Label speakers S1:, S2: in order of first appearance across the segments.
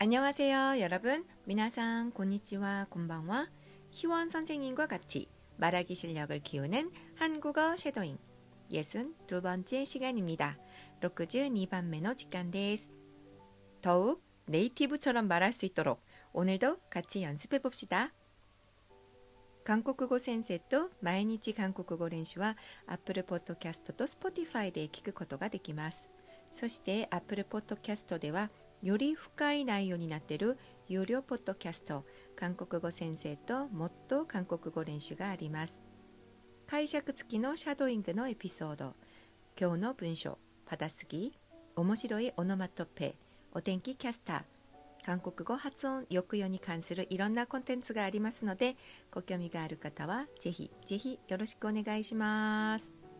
S1: 안녕하세요, 여러분. 미나상 곤니치와 곤방와 희원 선생님과 같이 말하기 실력을 키우는 한국어 쉐도잉 62번째 시간입니다. 62번目の 時間です. 더욱 네이티브처럼 말할 수 있도록 오늘도 같이 연습해 봅시다. 韓国語先生と毎日韓国語練習は Apple Podcast と Spotify で聞くことができます。そして Apple Podcast ではより深い内容になっている有料ポッドキャスト、韓国語先生ともっと韓国語練習があります。解釈付きのシャドーイングのエピソード、今日の文章、パダスギ、面白いオノマトペ、お天気キャスター、韓国語発音抑揚に関するいろんなコンテンツがありますので、ご興味がある方はぜひぜひよろしくお願いします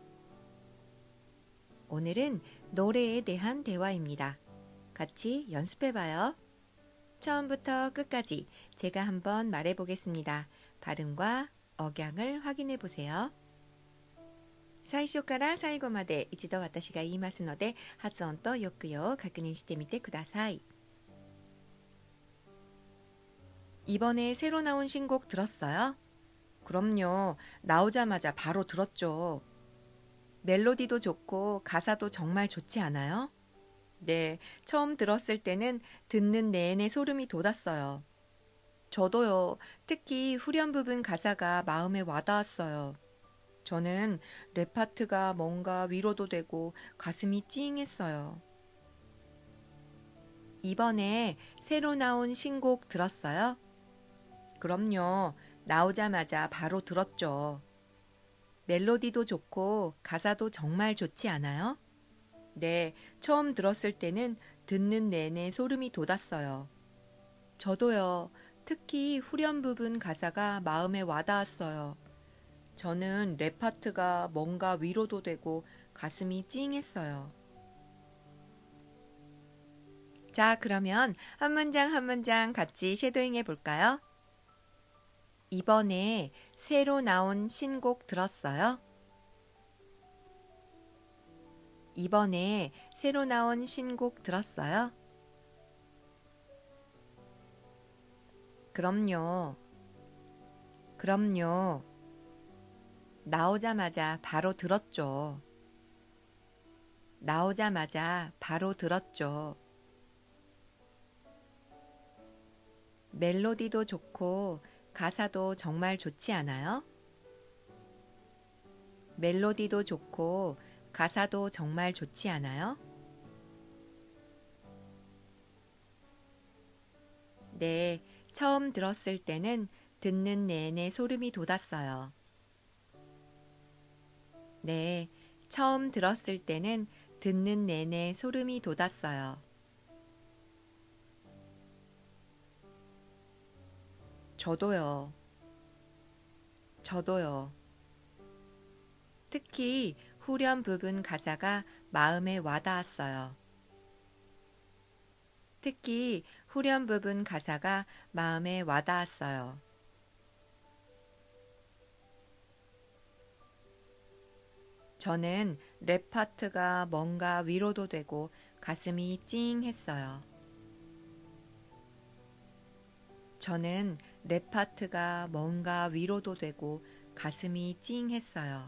S1: 。오늘은 노래에 대한 대화입니다. 같이 연습해봐요. 처음부터 끝까지 제가 한번 말해보겠습니다. 발음과 억양을 확인해보세요. 最初から最後まで一度私が言いますので発音と抑揚を確認してみてください. 이번에 새로 나온 신곡 들었어요? 그럼요. 나오자마자 바로 들었죠. 멜로디도 좋고 가사도 정말 좋지 않아요? 네, 처음 들었을 때는 듣는 내내 소름이 돋았어요. 저도요. 특히 후렴 부분 가사가 마음에 와닿았어요. 저는 랩 파트가 뭔가 위로도 되고 가슴이 찡했어요. 이번에 새로 나온 신곡 들었어요? 그럼요. 나오자마자 바로 들었죠. 멜로디도 좋고 가사도 정말 좋지 않아요? 네, 처음 들었을 때는 듣는 내내 소름이 돋았어요. 저도요. 특히 후렴 부분 가사가 마음에 와닿았어요. 저는 랩 파트가 뭔가 위로도 되고 가슴이 찡했어요. 자, 그러면 한 문장 한 문장 같이 쉐도잉 해볼까요? 이번에 새로 나온 신곡 들었어요? 이번에 새로 나온 신곡 들었어요? 그럼요. 그럼요. 나오자마자 바로 들었죠. 나오자마자 바로 들었죠. 멜로디도 좋고 가사도 정말 좋지 않아요? 멜로디도 좋고 가사도 정말 좋지 않아요? 네, 처음 들었을 때는 듣는 내내 소름이 돋았어요. 네, 처음 들었을 때는 듣는 내내 소름이 돋았어요. 저도요. 저도요. 특히 후렴 부분 가사가 마음에 와닿았어요. 특히 후렴 부분 가사가 마음에 와닿았어요. 저는 랩 파트가 뭔가 위로도 되고 가슴이 찡했어요. 저는 랩 파트가 뭔가 위로도 되고 가슴이 찡했어요.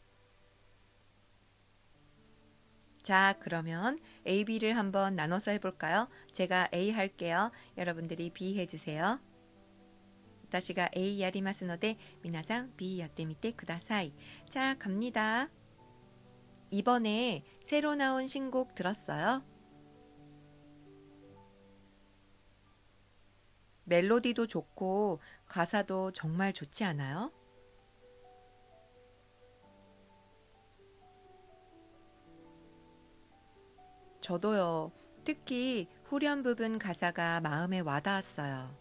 S1: 자, 그러면 A, B를 한번 나눠서 해볼까요? 제가 A 할게요. 여러분들이 B 해주세요. 私が A やりますので皆さん B やってみてください. 자, 갑니다. 이번에 새로 나온 신곡 들었어요? 멜로디도 좋고 가사도 정말 좋지 않아요? 저도요. 특히 후렴 부분 가사가 마음에 와닿았어요.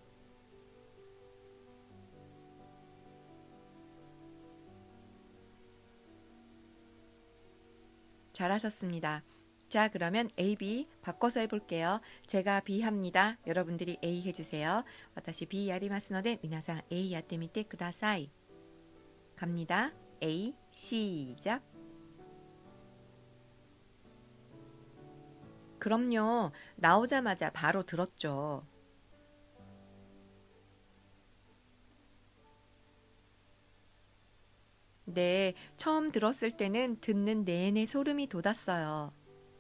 S1: 잘하셨습니다. 자, 그러면 A, B 바꿔서 해볼게요. 제가 B 합니다. 여러분들이 A 해주세요. 私 B やりますので皆さん A やってみてください. 갑니다. A, 시작. 그럼요. 나오자마자 바로 들었죠. 네, 처음 들었을 때는 듣는 내내 소름이 돋았어요.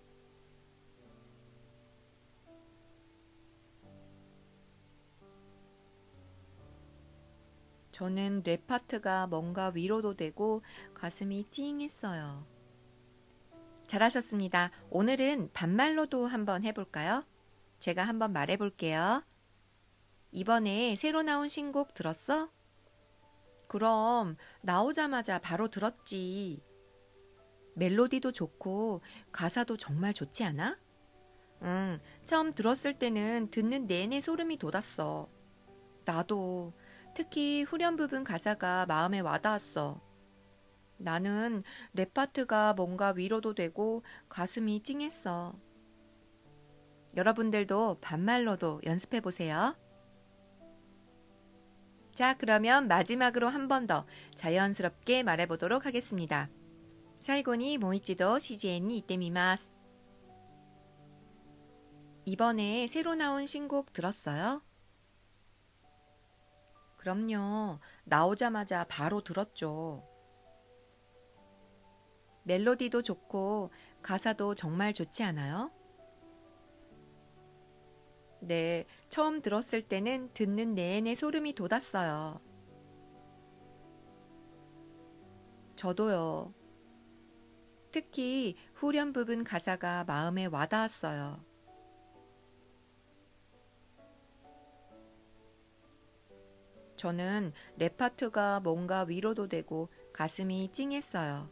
S1: 저는 랩 파트가 뭔가 위로도 되고 가슴이 찡했어요. 잘하셨습니다. 오늘은 반말로도 한번 해볼까요? 제가 한번 말해볼게요. 이번에 새로 나온 신곡 들었어? 그럼 나오자마자 바로 들었지. 멜로디도 좋고 가사도 정말 좋지 않아? 응, 처음 들었을 때는 듣는 내내 소름이 돋았어. 나도 특히 후렴 부분 가사가 마음에 와닿았어. 나는 랩 파트가 뭔가 위로도 되고 가슴이 찡했어. 여러분들도 반말로도 연습해 보세요. 자, 그러면 마지막으로 한 번 더 자연스럽게 말해보도록 하겠습니다. 最後にもう一度CGNに行ってみます. 이번에 새로 나온 신곡 들었어요? 그럼요. 나오자마자 바로 들었죠. 멜로디도 좋고 가사도 정말 좋지 않아요? 네, 처음 들었을 때는 듣는 내내 소름이 돋았어요. 저도요. 특히 후렴 부분 가사가 마음에 와닿았어요. 저는 랩 파트가 뭔가 위로도 되고 가슴이 찡했어요.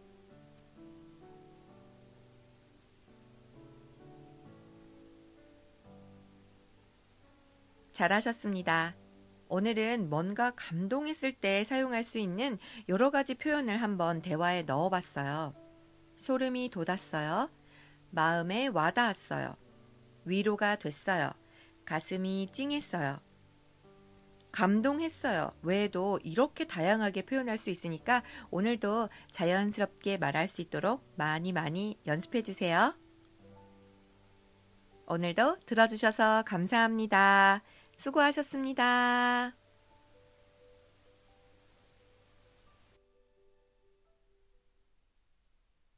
S1: 잘하셨습니다. 오늘은 뭔가 감동했을 때 사용할 수 있는 여러 가지 표현을 한번 대화에 넣어봤어요. 소름이 돋았어요. 마음에 와닿았어요. 위로가 됐어요. 가슴이 찡했어요. 감동했어요. 외에도 이렇게 다양하게 표현할 수 있으니까 오늘도 자연스럽게 말할 수 있도록 많이 연습해 주세요. 오늘도 들어주셔서 감사합니다. 수고하셨습니다.